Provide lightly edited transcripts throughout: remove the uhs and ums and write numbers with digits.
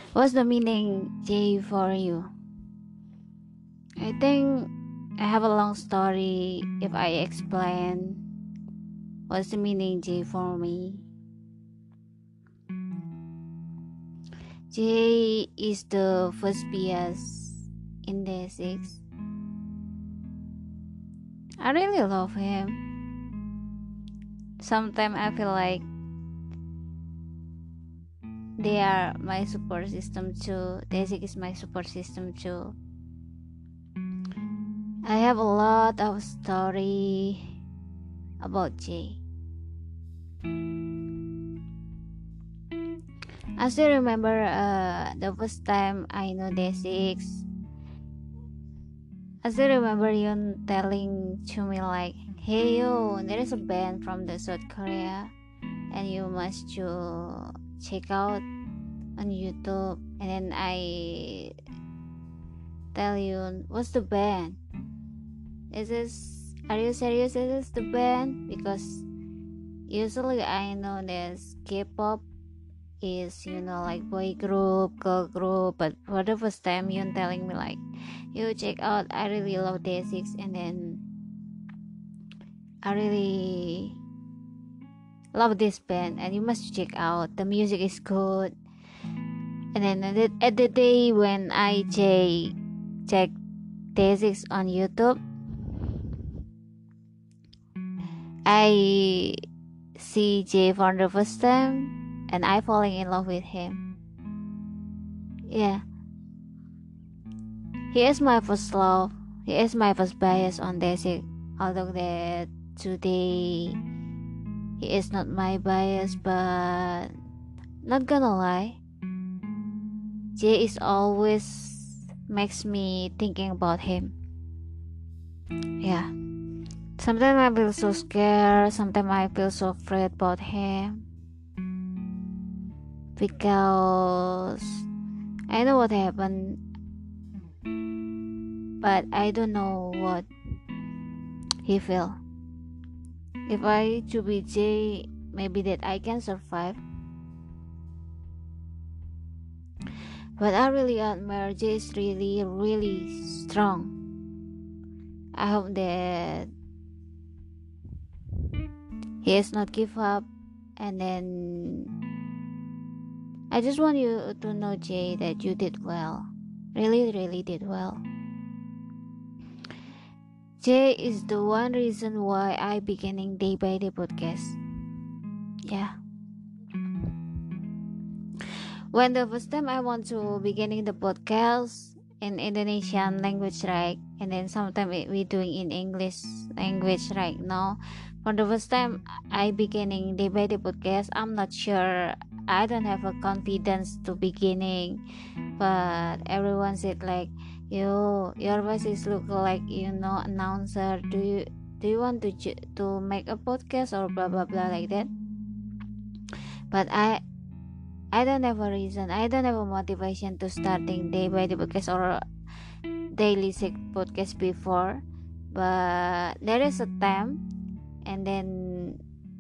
What's the meaning J for you? I think I have a long story if I explain what's the meaning J for me. J is the first PS in day 6. I really love him. Sometimes I feel like they are my support system too. Day 6 is my support system too. I have a lot of story about J. I still remember the first time I know Day 6. I still remember you telling to me like, hey yo, there is a band from the South Korea and you must to check out on YouTube. And then I tell you, what's the band? Are you serious? Is this the band? Because usually I know there's K-pop is like boy group, girl group, but for the first time you telling me like, you check out, I really love Day 6, and then I really love this band and you must check out, the music is good. And then at the day when I check Day 6 on YouTube, I see Jay for the first time and I falling in love with him. Yeah, he is my first love. He is my first bias on Day 6. Although that today he is not my bias, but not gonna lie, Jay is always makes me thinking about him. Yeah. Sometimes I feel so scared, sometimes I feel so afraid about him. Because I know what happened, but I don't know what he feel. If I to be Jay, maybe that I can survive. But I really admire Jay is really, really strong. I hope that he has not give up. And then I just want you to know, Jay, that you did well. Really, really did well. Jay is the one reason why I beginning Day by Day podcast. Yeah. When the first time I want to beginning the podcast in Indonesian language, right? And then sometimes we doing in English language right now. For the first time I beginning Day by Day podcast, I'm not sure. I don't have a confidence to beginning, but everyone said like, yo, your voice is look like announcer. Do you want to make a podcast or blah blah blah like that? But I don't have a reason. I don't have a motivation to starting Day by Day podcast or daily sick podcast before. But there is a time, and then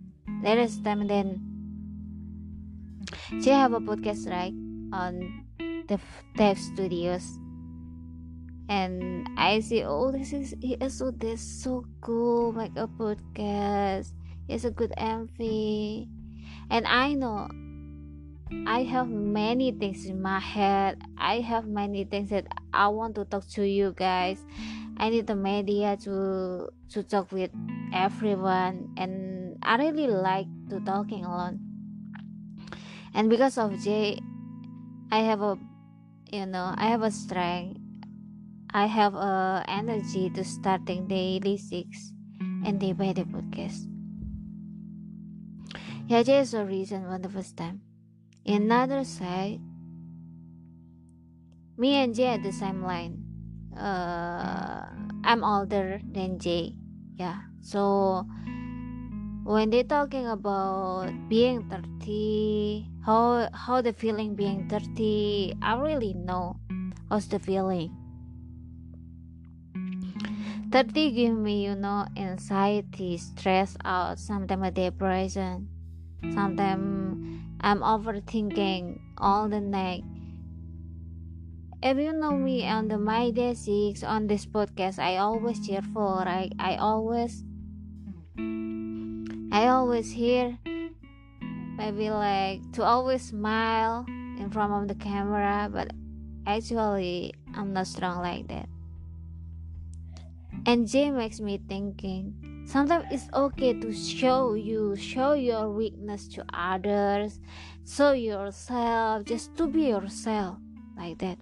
she have a podcast right on the Dev Studios, and I see, oh, this is so cool, make a podcast. It's a good MV, and I know I have many things in my head. I have many things that I want to talk to you guys. I need the media to talk with everyone, and I really like to talking alone. And because of Jay, I have a strength. I have a energy to starting daily 6 and Day by Day podcast. Yeah, Jay is the reason for the first time. Another side, me and Jay at the same line. I'm older than Jay. Yeah. So when they talking about being 30, how the feeling being 30, I really know how's the feeling. 30 give me, anxiety, stress out, sometimes a depression. Sometimes I'm overthinking all the night. If you know me on the My Day 6 on this podcast, I always cheerful, right? I always hear maybe like to always smile in front of the camera, but actually I'm not strong like that. And Jay makes me thinking sometimes it's okay to show your weakness to others, show yourself, just to be yourself like that.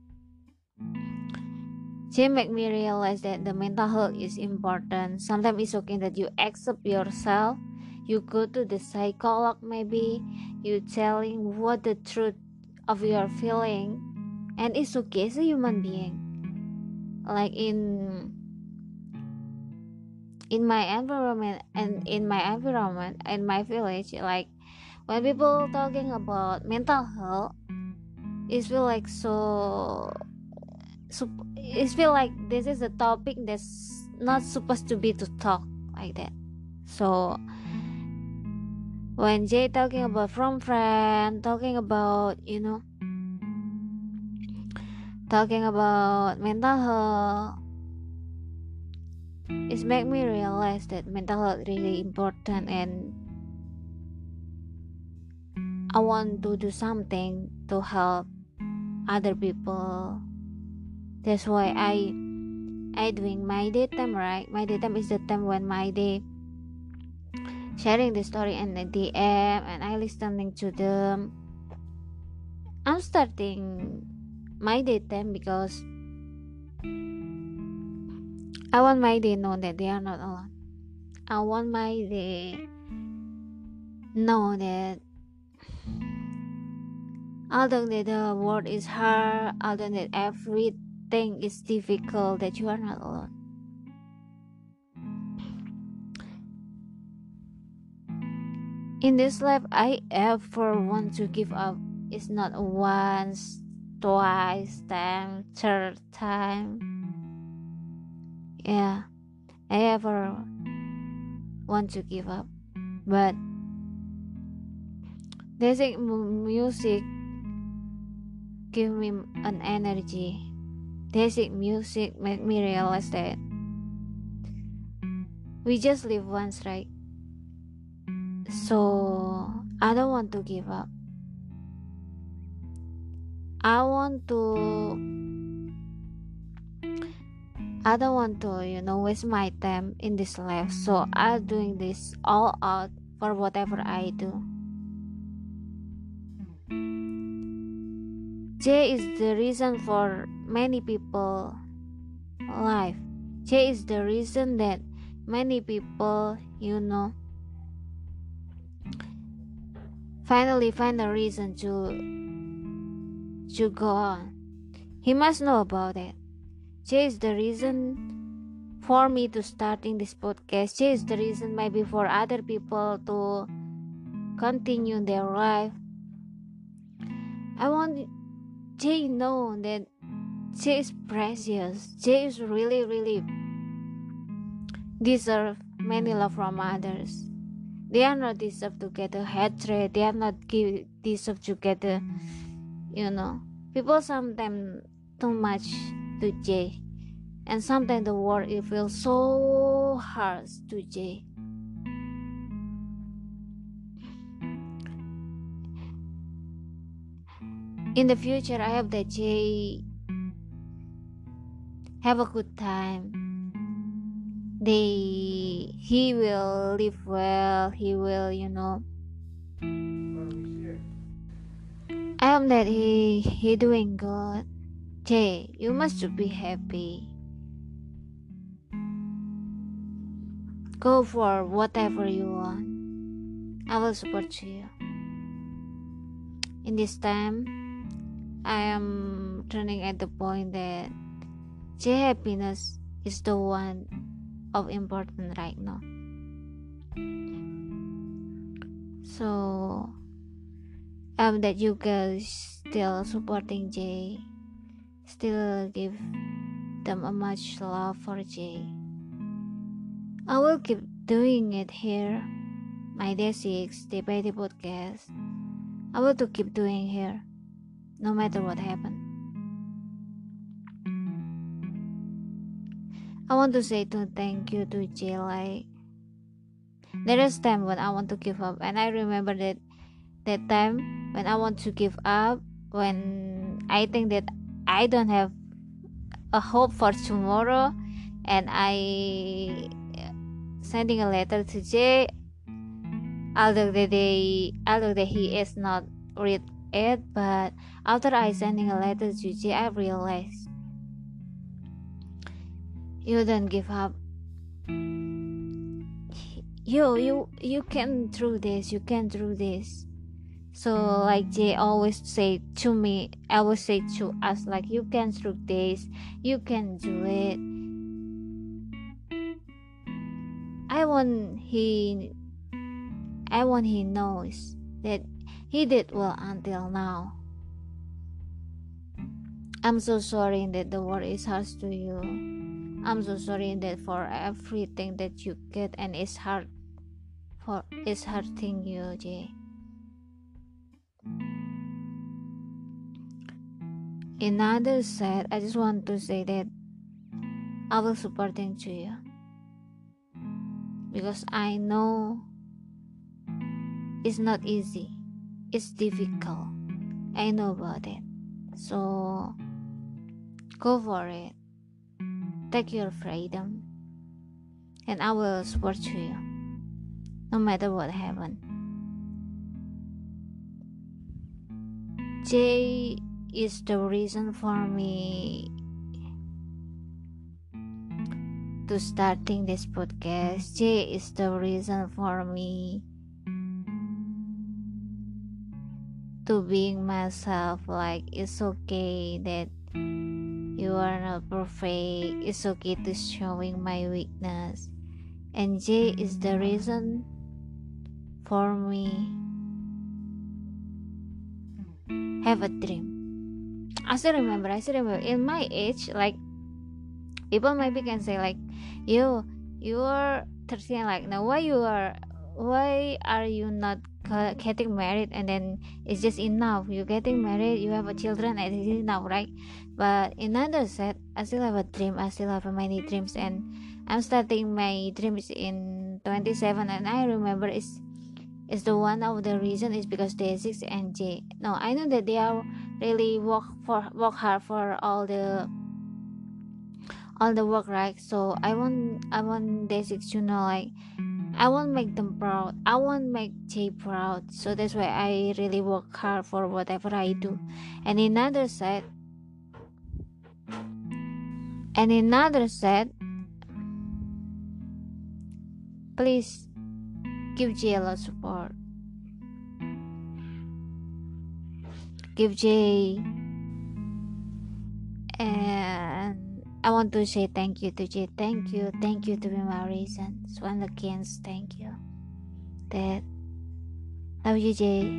Jay make me realize that the mental health is important. Sometimes it's okay that you accept yourself. You go to the psychologist, maybe you telling what the truth of your feeling, and it's okay as a human being. Like in my environment in my village, like when people talking about mental health, it feel like it feel like this is a topic that's not supposed to be to talk like that. So when Jay talking about from friend, talking about talking about mental health, it make me realize that mental health really important, and I want to do something to help other people. That's why I doing my day time, right? My day time is the time when my day sharing the story in the DM and I listening to them. I'm starting my day time because I want my day know that they are not alone. I want my day know that although that the world is hard, although that everything is difficult, that you are not alone. In this life, I ever want to give up. It's not once, twice, time, third time. Yeah, I ever want to give up, but basic music give me an energy. Basic music make me realize that we just live once, right? So I don't want to give up. I don't want to waste my time in this life. So I'm doing this all out for whatever I do. J is the reason for many people life. J is the reason that many people, finally find a reason to go on. He must know about it. J is the reason for me to starting this podcast. J is the reason maybe for other people to continue their life. I want J know that J is precious. J is really, really deserve many love from others. They are not deserve to get a hatred. They are not deserve to get a, people sometimes too much to J, and sometimes the world it feels so harsh to J. In the future, I hope that J have a good time. He will live well. He will, I hope that he doing good. Jay, you must be happy. Go for whatever you want. I will support you. In this time, I am turning at the point that Jay happiness is the one of important right now. So that you guys still supporting Jay, still give them a much love for Jay. I will keep doing it here, my Day 6 Day by Day podcast. I will to keep doing here, no matter what happens. I want to say to thank you to Jay. Like, there is time when I want to give up, and I remember that time when I want to give up, when I think that I don't have a hope for tomorrow, and I sending a letter to Jay, although that he is not read it, but after I sending a letter to Jay, I realized you don't give up. You can do this. You can do this. So like Jay always say to me, I always say to us, like, you can do this. You can do it. I want he knows that he did well until now. I'm so sorry that the world is harsh to you. I'm so sorry that for everything that you get and it's hurting you, Jay. In other side, I just want to say that I will supporting to you, because I know it's not easy. It's difficult. I know about it. So go for it. Take your freedom, and I will support you no matter what happens. Jay is the reason for me to starting this podcast. Jay is the reason for me to being myself. Like, it's okay that you are not perfect. It's okay to showing my weakness. And Jay is the reason for me have a dream. I still remember in my age, like, people maybe can say like, you are 13, like, now why are you not getting married, and then it's just enough, you getting married, you have a children, and it's enough, right? But in other side, I still have a dream. I still have many dreams, and I'm starting my dreams in 27. And I remember it's the one of the reason is because Day6 and Jay. No, I know that they are really work hard for all the work, right? So I want Day6 to know, like, I want make them proud. I want make Jay proud. So that's why I really work hard for whatever I do. And in another side, please give Jay a lot of support. Give Jay, and I want to say thank you to Jay. Thank you to be my reason. Swan against, thank you. That love you, Jay.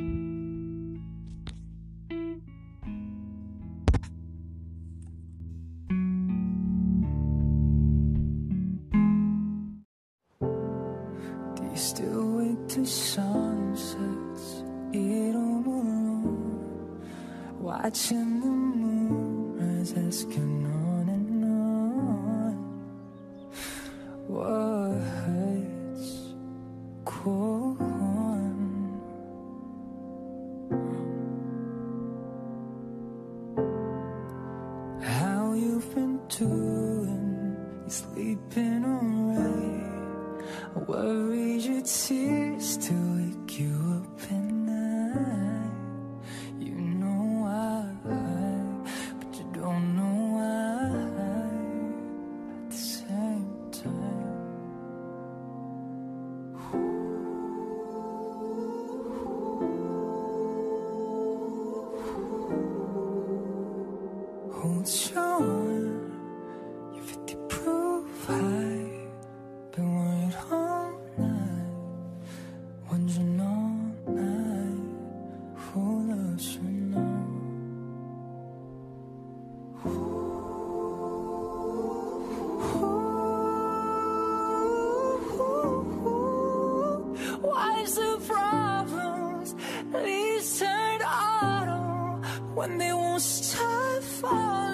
Do you still wait till sunsets? Eat all alone, watching the moon rise, asking on and on. What hurts? Go on. How you've been doing? You sleeping alright? I worry your tears to wake you up at night. You know why, but you don't know why at the same time. Hold on, you're 50 proof high. Been worried all night, wondering all night who loves you now. Why's the problems leaves turn autumn when they won't stop falling?